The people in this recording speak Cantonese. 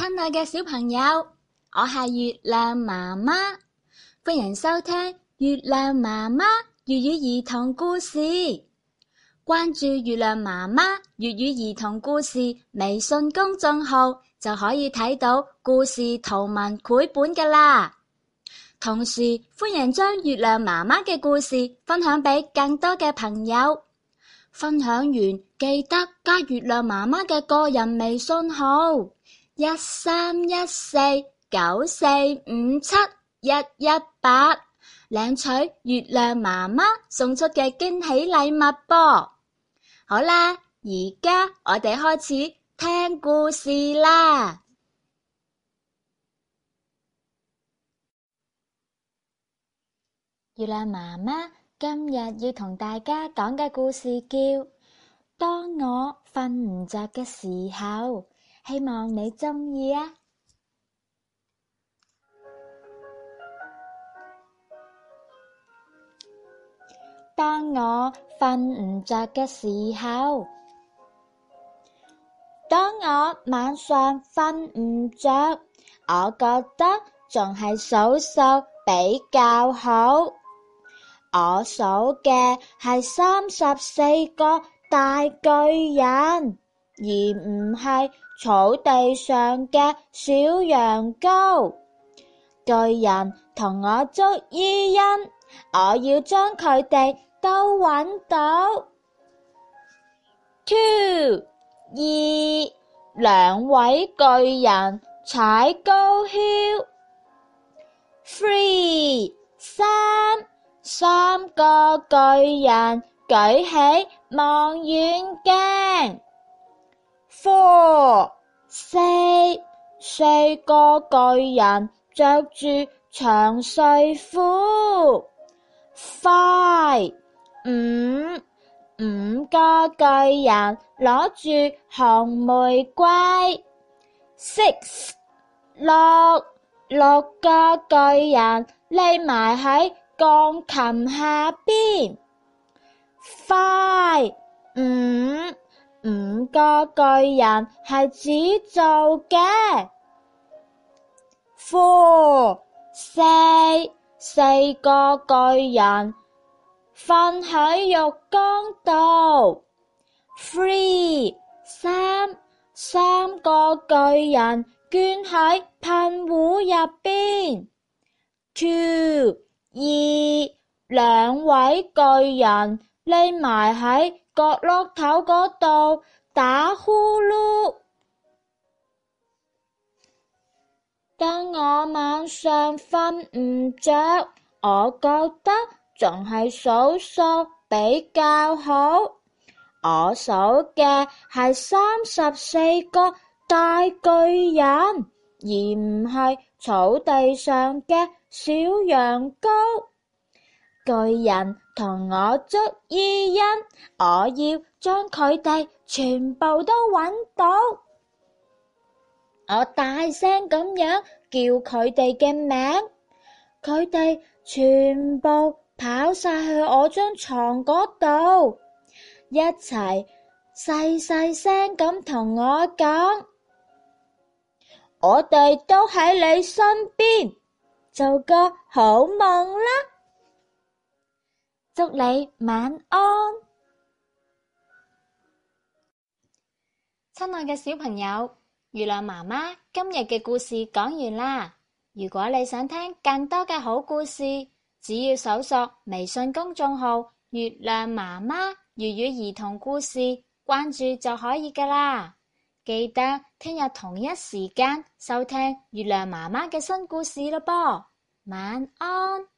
親愛嘅小朋友，我係月亮媽媽，歡迎收聽月亮媽媽粵語兒童故事。關注月亮媽媽粵語兒童故事微信公眾號，就可以睇到故事圖文繪本㗎喇。同時，歡迎將月亮媽媽嘅故事分享俾更多嘅朋友。分享完記得加月亮媽媽嘅個人微信號131494571181，領取月亮媽媽送出嘅驚喜禮物啵。好啦，而家我哋開始聽故事啦。月亮媽媽今日要同大家講嘅故事叫《當我瞓唔着嘅時候》，希望你鍾意啊！當我瞓唔着嘅時候，當我晚上瞓唔着，我覺得仲係數數比較好。我數嘅係34個大巨人，而唔係草地上嘅小羊羔。巨人同我捉伊恩，我要將佢哋都揾到。2 兩位巨人踩高蹺。3三個巨人舉起望遠鏡。4四個巨人着住長睡褲。5五個巨人攞住紅玫瑰。6六個巨人匿埋喺鋼琴下邊。5五個巨人係紙做嘅。4四個巨人瞓喺浴缸度。3三個巨人捐喺噴壺入邊。2兩位巨人匿埋喺角落頭嗰度打呼嚕。當我晚上瞓唔着，我覺得仲係數數比較好。我數嘅係34個大巨人，而唔係草地上嘅小羊羔。巨人同我捉伊恩，我要將佢哋全部都揾到。我大聲咁樣叫佢哋嘅名，佢哋全部跑晒去我張床嗰度，一齊細細聲咁同我講：我哋都喺你身邊，做個好夢啦！祝你晚安。親愛嘅小朋友，月亮媽媽今日嘅故事講完啦。如果你想聽更多嘅好故事，只要搜索微信公眾號月亮媽媽粵語兒童故事，關注就可以㗎啦。記得聽日同一時間收聽月亮媽媽嘅新故事咯噃。晚安。